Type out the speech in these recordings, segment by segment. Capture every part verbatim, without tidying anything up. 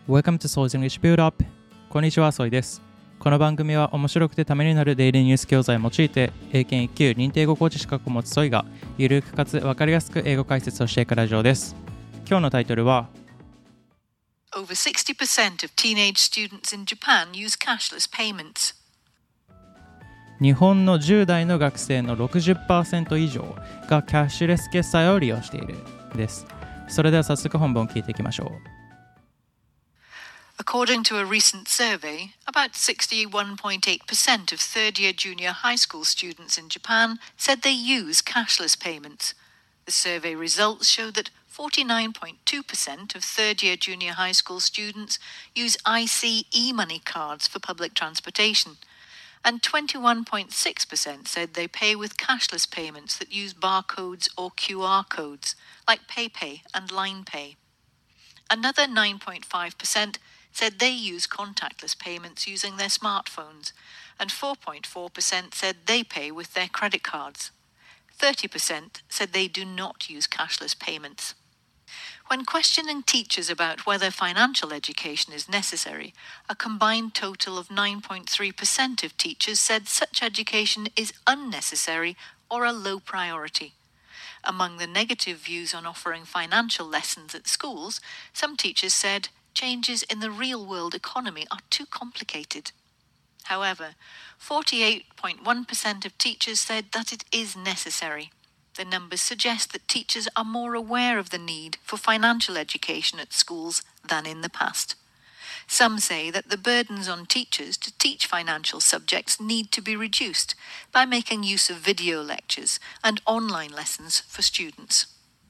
Welcome to Soy's English Build Up。こんにちは、ソイです。この番組は面白くてためになるデイリーニュース教材を用いて、英検いっ級認定語コーチ資格を持つソイが、ゆるくかつ分かりやすく英語解説をしていくラジオです。今日のタイトルは、 Over sixty percent of teenage students in Japan use cashless payments. 日本のじゅう代の学生の ろくじゅっパーセント 以上がキャッシュレス決済を利用しているです。それでは早速本文を聞いていきましょう。 According to a recent survey, about sixty-one point eight percent of third-year junior high school students in Japan said they use cashless payments. The survey results show that forty-nine point two percent of third-year junior high school students use I C e-money cards for public transportation, and twenty-one point six percent said they pay with cashless payments that use barcodes or Q R codes, like PayPay and Line Pay. Another nine point five percent said they use contactless payments using their smartphones, and four point four percent said they pay with their credit cards. thirty percent said they do not use cashless payments. When questioning teachers about whether financial education is necessary, a combined total of nine point three percent of teachers said such education is unnecessary or a low priority. Among the negative views on offering financial lessons at schools, some teachers said changes in the real-world economy are too complicated. However, forty-eight point one percent of teachers said that it is necessary. The numbers suggest that teachers are more aware of the need for financial education at schools than in the past. Some say that the burdens on teachers to teach financial subjects need to be reduced by making use of video lectures and online lessons for students.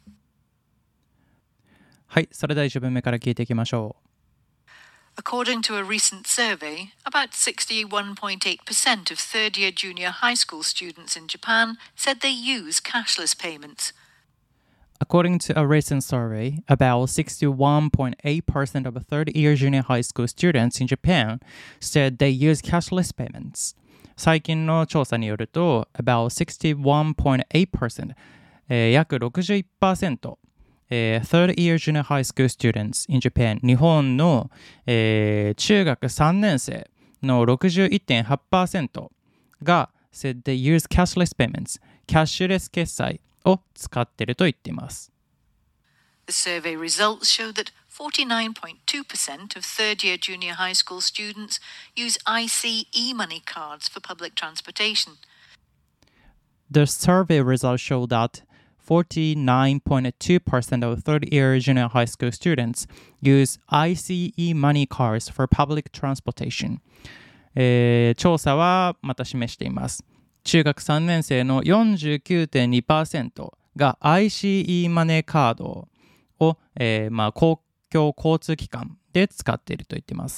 はい、それではいち文目から聞いていきましょう。 According to a recent survey, about sixty-one point eight percent of third-year junior high school students in Japan said they use cashless payments. According to a recent survey, about sixty-one point eight percent of third-year junior high school students in Japan said they use cashless payments. 最近の調査によると、about sixty-one point eight percent、えー、約 ろくじゅういちパーセントえー、third-year junior high school students in Japan 日本の、えー、中学さんねん生の ろくじゅういってんはちパーセント が said they use cashless payments キャッシュレス決済を使っていると言っています。 The survey results show that forty-nine point two percent of third-year junior high school students use I C e-money cards for public transportation. The survey results show that forty-nine point two percent of third-year junior high school students use I C e money cards for public transportation、えー、調査はまた示しています。中学さんねん生の よんじゅうきゅうてんにパーセント が アイシーイー マネーカードを、えーまあ、公共交通機関で使っていると言っています。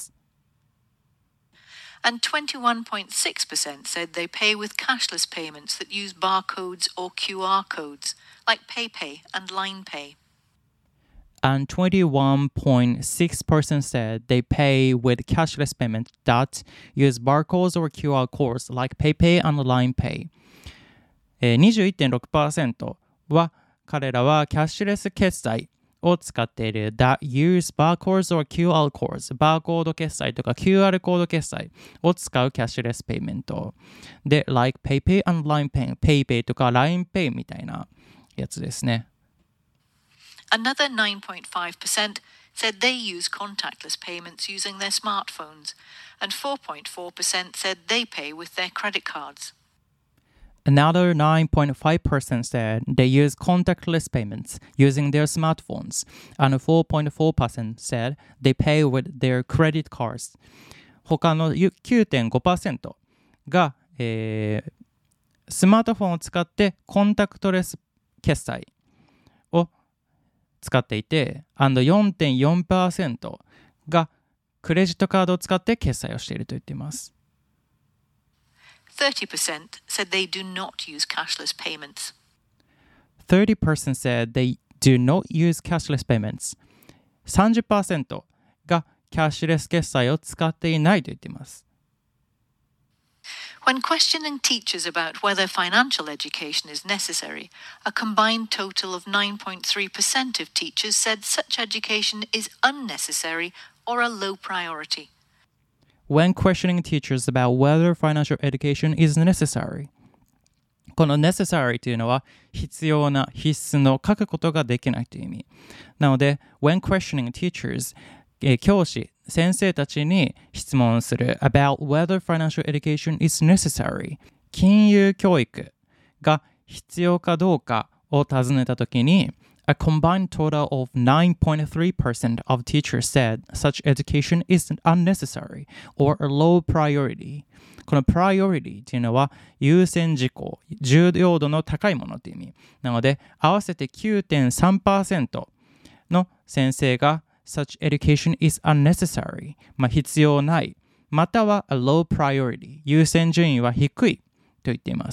And twenty-one point six percent said they pay with cashless payments that use barcodes or Q R codes, like PayPay and Line Pay. And twenty-one point six percent said they pay with cashless payments that use barcodes or Q R codes, like PayPay and Line Pay. えー、にじゅういってんろくパーセント は彼らはキャッシュレス決済を使っている that use barcodes or Q R codes バーコード決済とか キューアール コード決済を使うキャッシュレスペイメントで like PayPay and Line Pay PayPay とか Line Pay みたいなやつですね。 Another nine point five percent said they use contactless payments using their smartphones, and four point four percent said they pay with their credit cards.Another nine point five percent said they use contactless payments using their smartphones, and four point four percent said they pay with their credit cards. 他の きゅうてんごパーセント が、えー、スマートフォンを使ってコンタクトレス決済を使っていて、and よんてんよんパーセント がクレジットカードを使って決済をしていると言っています。 thirty percent said they do not use cashless payments. thirty percent said they do not use cashless payments. さんじゅっパーセント がキャッシュレス決済を使っていないと言っています。 When questioning teachers about whether financial education is necessary, a combined total of nine point three percent of teachers said such education is unnecessary or a low priority. When questioning teachers about whether financial education is necessary. この necessary というのは必要な必須の書くことができないという意味。なので、when questioning teachers、えー、教師、先生たちに質問する about whether financial education is necessary、金融教育が必要かどうかを尋ねたときに、A combined total of nine point three percent of teachers said such education is unnecessary or a low priority. この priority というのは優先事項、重要度の高いものという意味。なので、合わせて きゅうてんさんパーセント の先生が such education is unnecessary、まあ、必要ない、または a low priority、優先順位は低いと言っています。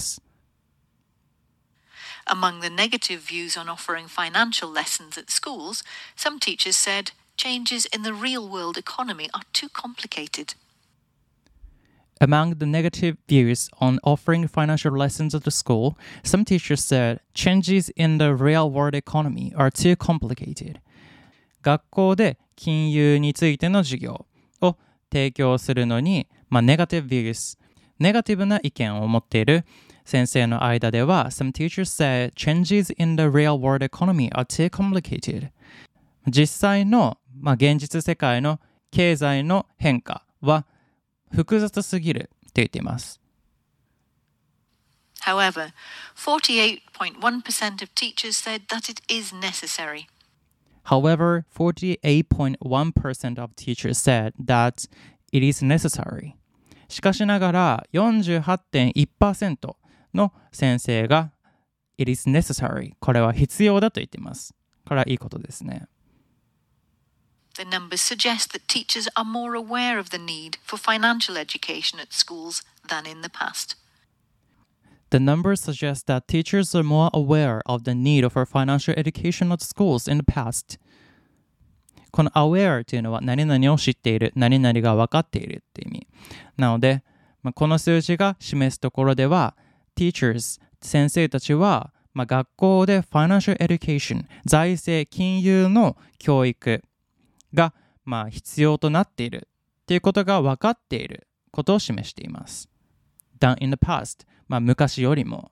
Among the negative views on offering financial lessons at schools, some teachers said changes in the real-world economy are too complicated. Among the negative views on offering financial lessons at the school, some teachers said changes in the real-world economy are too complicated. 学校で金融についての授業を提供するのに、まあ、negative views、ネガティブな意見を持っている先生の間では、some teachers said changes in the real world economy are too complicated. 実際の、まあ、現実世界の経済の変化は複雑すぎると言っています。 However, forty-eight point one percent of teachers said that it is necessary. However, forty-eight point one percent of teachers said that it is necessary. しかしながら よんじゅうはちてんいちパーセントの先生が It is necessary これは必要だと言っています。これはいいことですね。 The numbers suggest that teachers are more aware of the need for financial education at schools than in the past. The numbers suggest that teachers are more aware of the need for financial education at schools in the past. この aware というのは何々を知っている、何々が分かっているって意味。なので、まあ、この数字が示すところでは、teachers、先生たちは、まあ、学校で financial education、財政、金融の教育が、まあ、必要となっているということが分かっていることを示しています。than in the past、まあ、昔よりも。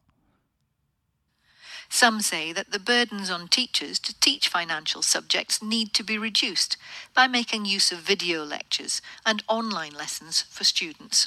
Some say that the burdens on teachers to teach financial subjects need to be reduced by making use of video lectures and online lessons for students.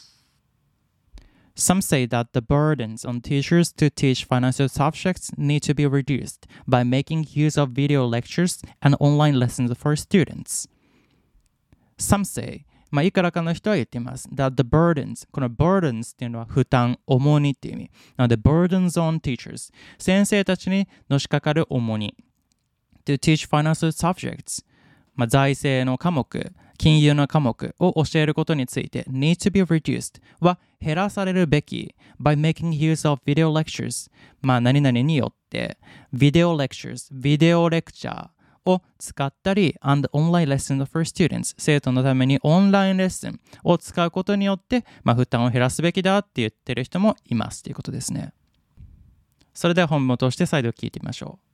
Some say that the burdens on teachers to teach financial subjects need to be reduced by making use of video lectures and online lessons for students. Some say, まあ、いくらかの人は言っています。that the burdens、この burdens っていうのは負担、重荷っていう意味。なので burdens on teachers、先生たちにのしかかる重荷。to teach financial subjects、まあ、財政の科目、金融の科目を教えることについて need to be reduced は減らされるべき by making use of video lectures、まあ、何々によって video lectures、ビデオレクチャーを使ったり and online lessons for students 生徒のためにオンラインレッスンを使うことによって、まあ、負担を減らすべきだって言ってる人もいますということですね。それでは本文を通して再度聞いてみましょう。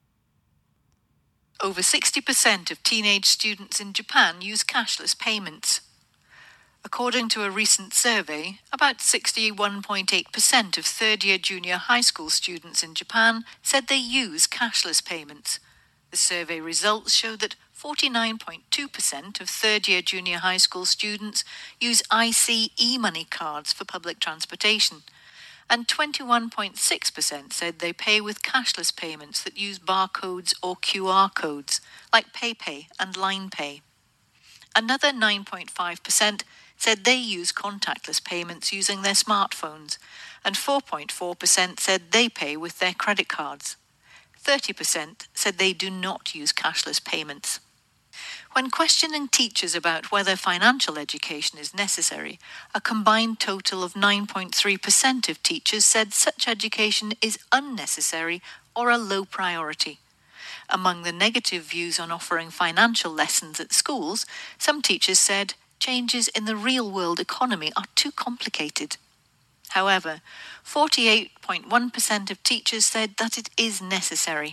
Over sixty percent of teenage students in Japan use cashless payments. According to a recent survey, about sixty-one point eight percent of third-year junior high school students in Japan said they use cashless payments. The survey results show that forty-nine point two percent of third-year junior high school students use I C e-money cards for public transportation, and twenty-one point six percent said they pay with cashless payments that use barcodes or Q R codes, like PayPay and LinePay. Another nine point five percent said they use contactless payments using their smartphones, and four point four percent said they pay with their credit cards. thirty percent said they do not use cashless payments. When questioning teachers about whether financial education is necessary, a combined total of nine point three percent of teachers said such education is unnecessary or a low priority. Among the negative views on offering financial lessons at schools, some teachers said changes in the real-world economy are too complicated. However, forty-eight point one percent of teachers said that it is necessary.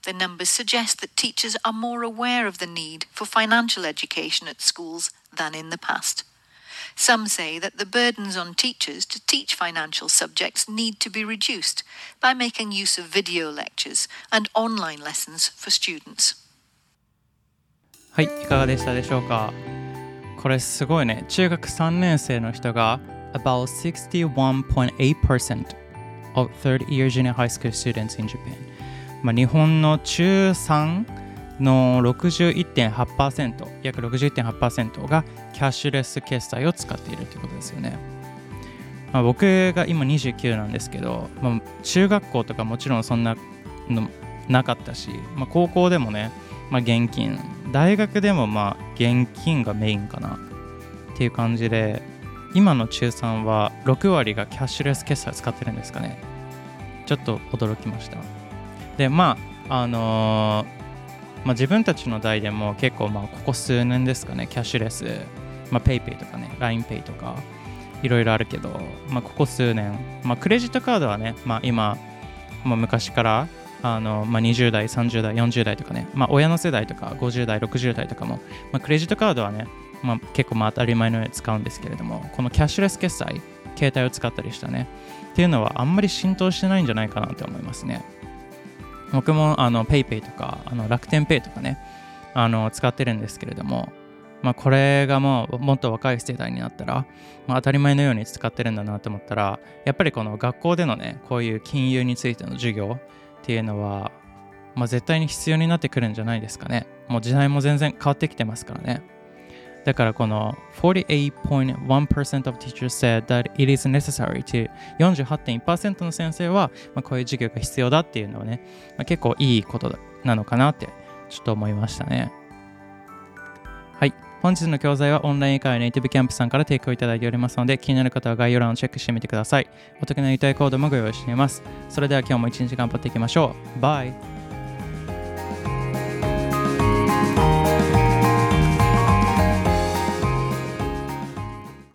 The numbers suggest that teachers are more aware of the need for financial education at schools than in the past. Some say that the burdens on teachers to teach financial subjects need to be reduced by making use of video lectures and online lessons for students. はい、いかがでしたでしょうか。これすごいね。中学さんねん生の人が about sixty-one point eight percent of third-year junior high school students in Japan。まあ、日本の中さんの ろくじゅういってんはちパーセント、約 ろくじゅういってんはちパーセント がキャッシュレス決済を使っているということですよね。まあ、僕が今にじゅうきゅうなんですけど、まあ、中学校とかもちろんそんなのなかったし、まあ、高校でもね、まあ、現金、大学でもまあ現金がメインかなっていう感じで、今の中さんはろく割がキャッシュレス決済を使ってるんですかね。ちょっと驚きました。で、まああのーまあ、自分たちの代でも結構まあここ数年ですかね、キャッシュレス、まあ、PayPay とかね、ラインペイ とかいろいろあるけど、まあ、ここ数年、まあ、クレジットカードはね、まあ、今、まあ、昔からあの、まあ、にじゅう代、さんじゅう代、よんじゅう代とかね、まあ、親の世代とかごじゅう代、ろくじゅう代とかも、まあ、クレジットカードはね、まあ、結構まあ当たり前のように使うんですけれども、このキャッシュレス決済、携帯を使ったりしたねっていうのはあんまり浸透してないんじゃないかなと思いますね。僕もあの PayPay とかあの楽天ペイとかねあの使ってるんですけれども、まあ、これがもうもっと若い世代になったら、まあ、当たり前のように使ってるんだなと思ったら、やっぱりこの学校でのねこういう金融についての授業っていうのは、まあ、絶対に必要になってくるんじゃないですかね。もう時代も全然変わってきてますからね。だからこの forty-eight point one percent of teachers said that it is necessary to よんじゅうはちてんいちパーセント の先生は、まあ、こういう授業が必要だっていうのはね、まあ、結構いいことなのかなってちょっと思いましたね。はい。本日の教材はオンライン英会話ネイティブキャンプさんから提供いただいておりますので、気になる方は概要欄をチェックしてみてください。お得な優待コードもご用意しています。それでは今日も一日頑張っていきましょう。バイ。